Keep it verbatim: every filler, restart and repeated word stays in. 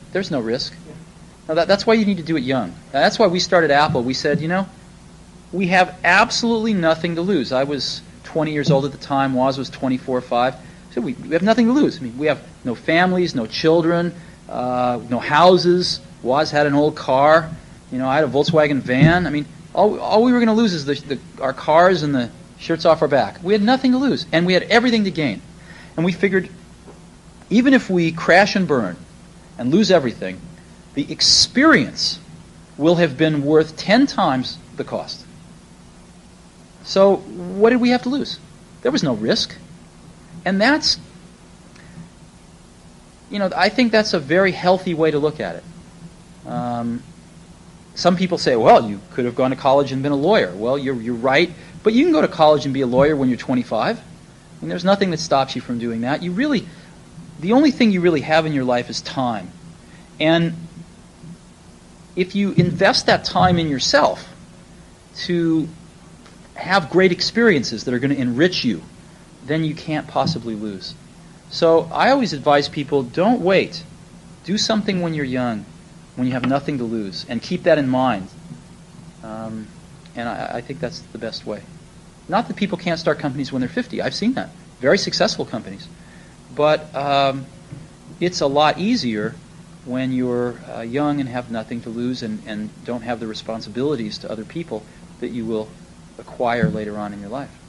There's no risk. Now that, that's why you need to do it young. Now, that's why we started Apple. We said, you know, we have absolutely nothing to lose. I was twenty years old at the time. Woz was twenty-four or five. So we, we have nothing to lose. I mean, we have no families, no children, uh, no houses. Woz had an old car. You know, I had a Volkswagen van. I mean, all, all we were going to lose is the, the, our cars and the shirts off our back. We had nothing to lose, and we had everything to gain. And we figured, even if we crash and burn and lose everything, the experience will have been worth ten times the cost. So what did we have to lose? There was no risk. And that's, you know, I think that's a very healthy way to look at it. Um, some people say, well, you could have gone to college and been a lawyer. Well, you're, you're right. But you can go to college and be a lawyer when you're twenty-five. I mean, there's nothing that stops you from doing that. You really, the only thing you really have in your life is time. And if you invest that time in yourself to have great experiences that are going to enrich you, then you can't possibly lose. So I always advise people, don't wait. Do something when you're young, when you have nothing to lose, and keep that in mind. Um, and I, I think that's the best way. Not that people can't start companies when they're fifty. I've seen that. Very successful companies. But um, it's a lot easier when you're uh, young and have nothing to lose and, and don't have the responsibilities to other people that you will acquire later on in your life.